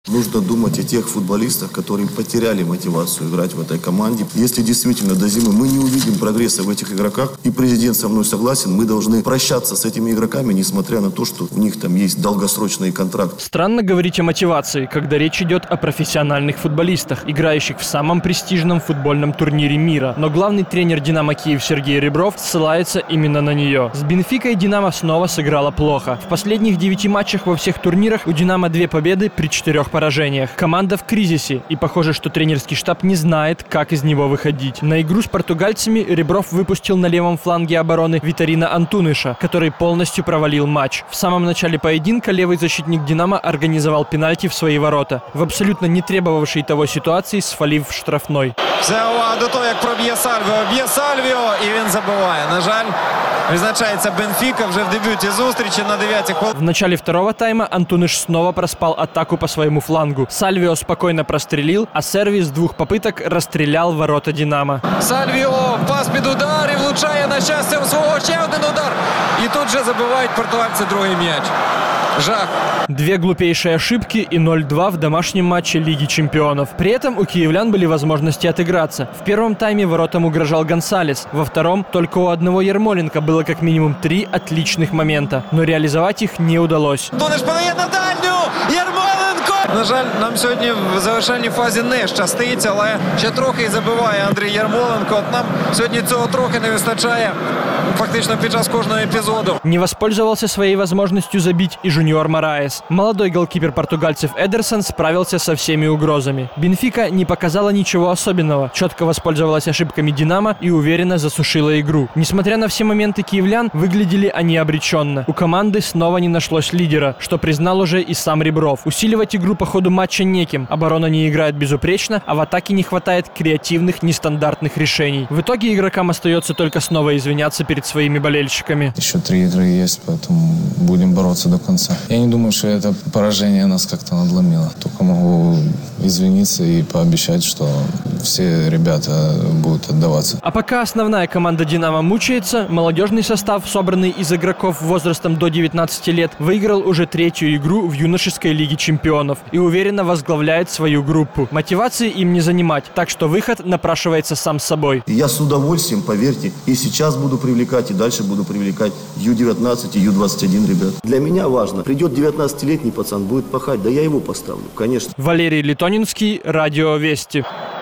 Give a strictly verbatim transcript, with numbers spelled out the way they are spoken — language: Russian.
Нужно думать о тех футболистах, которые потеряли мотивацию играть в этой команде. Если действительно до зимы мы не увидим прогресса в этих игроках, и президент со мной согласен, мы должны прощаться с этими игроками, несмотря на то, что у них там есть долгосрочный контракт. Странно говорить о мотивации, когда речь идет о профессиональных футболистах, играющих в самом престижном футбольном турнире мира. Но главный тренер «Динамо Киев» Сергей Ребров ссылается именно на нее. С «Бенфикой» «Динамо» снова сыграла плохо. В последних девяти матчах во всех турнирах у «Динамо» две победы при четырех поражениях. Команда в кризисе, и похоже, что тренерский штаб не знает, как из него выходить. На игру с португальцами Ребров выпустил на левом фланге обороны Витарина Антуныша, который полностью провалил матч. В самом начале поединка левый защитник «Динамо» организовал пенальти в свои ворота, в абсолютно не требовавшей того ситуации, свалив в штрафной. Це увага до того, як проб'є Сальвіо. Б'є Сальвіо, і він забиває. На жаль, визначається Бенфіка вже в дебюті зустрічі на дев'ятій хвилині. В начале второго тайма Антуныш снова проспал атаку по своему флангу. Сальвио спокойно прострелил, а Серви с двух попыток расстрелял ворота «Динамо». Сальвіо, пас під удар і влучає на щастя у свого. Ще один удар. І тут же забивають португальці другий м'яч. Жах. Две глупейшие ошибки и ноль-два в домашнем матче Лиги чемпионов. При этом у киевлян были возможности отыграться. В первом тайме воротам угрожал Гонсалес. Во втором только у одного Ярмоленко было как минимум три отличных момента. Но реализовать их не удалось. Тонеш подає на дальню! Ярмоленко! На жаль, нам сьогодні в завершальній фазі не щастить, але ще трохи і забиває Андрій Ярмоленко. От нам сьогодні цього трохи не вистачає фактично під час кожного епізоду. Не воспользовался своей возможностью забить и Жуниор Мораес. Молодой голкипер португальцев Эдерсон справился со всеми угрозами. Бенфика не показала ничего особенного, четко воспользовалась ошибками «Динамо» и уверенно засушила игру. Несмотря на все моменты киевлян, выглядели они обреченно. У команды снова не нашлось лидера, что признал уже и сам Ребров. Усиливать игру по ходу матча неким, оборона не играет безупречно, а в атаке не хватает креативных, нестандартных решений. В итоге игрокам остается только снова извиняться перед своими болельщиками. Еще три игры есть, поэтому будем бороться до конца. Я не думаю, что это поражение нас как-то надломило. Только могу извиниться и пообещать, что все ребята будут отдаваться. А пока основная команда «Динамо» мучается, молодежный состав, собранный из игроков возрастом до девятнадцати лет, выиграл уже третью игру в юношеской Лиге чемпионов и уверенно возглавляет свою группу. Мотивации им не занимать, так что выход напрашивается сам собой. Я с удовольствием, поверьте, и сейчас буду привлекать, и дальше буду привлекать ю девятнадцать и ю двадцать один ребят. Для меня важно, придет девятнадцатилетний пацан, будет пахать, да я его поставлю, конечно. Валерий Литонинский, Радио Вести.